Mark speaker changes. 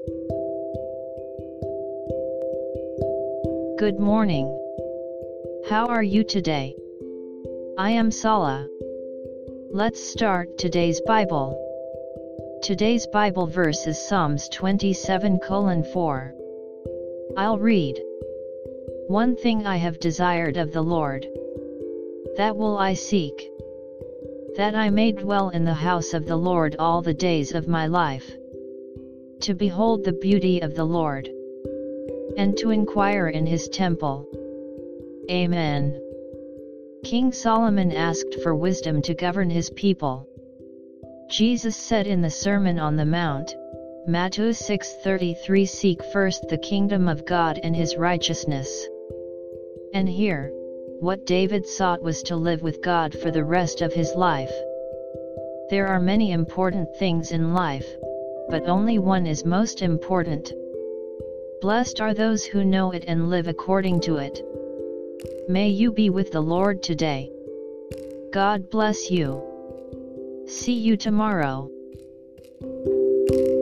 Speaker 1: Good morning. How are you today? I am Sala. Let's start today's Bible. Today's Bible verse is Psalms 27:4. I'll read. One thing I have desired of the Lord, that will I seek, that I may dwell in the house of the Lord all the days of my life, to behold the beauty of the Lord, and to inquire in his temple. Amen. King Solomon asked for wisdom to govern his people. Jesus said in the Sermon on the Mount, Matthew 6:33, "Seek first the kingdom of God and his righteousness." And here, what David sought was to live with God for the rest of his life. There are many important things in life, but only one is most important. Blessed are those who know it and live according to it. May you be with the Lord today. God bless you. See you tomorrow.